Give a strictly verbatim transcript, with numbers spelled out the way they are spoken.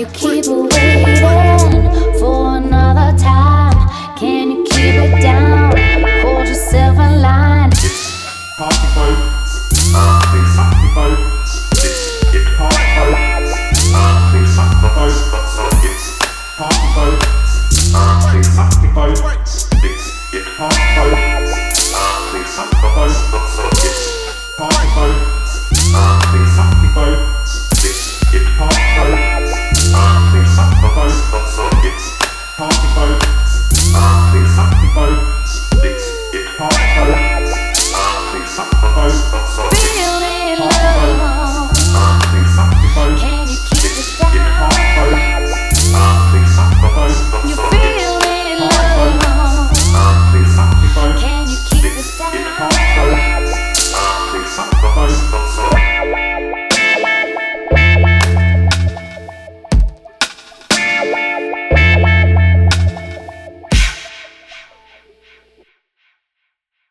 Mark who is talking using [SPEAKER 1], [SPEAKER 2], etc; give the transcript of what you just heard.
[SPEAKER 1] you keep waiting for another time? Can you keep it down? Hold yourself in line.
[SPEAKER 2] Party folks, please suck the boats. Party folks, please suck the boats. Party folks, please suck the boats. Party folks, please suck the boats. Party folks, please suck the boats. Party folks, please suck the boats. Party folks, please suck the boats. Party folks, please suck the boat.
[SPEAKER 1] Feeling love.
[SPEAKER 2] Please suck the boat.
[SPEAKER 1] Can you keep it down?
[SPEAKER 2] Please suck the boat.
[SPEAKER 1] You feeling love.
[SPEAKER 2] Please suck the boat.
[SPEAKER 1] Can you keep it down?
[SPEAKER 2] Please suck the boat.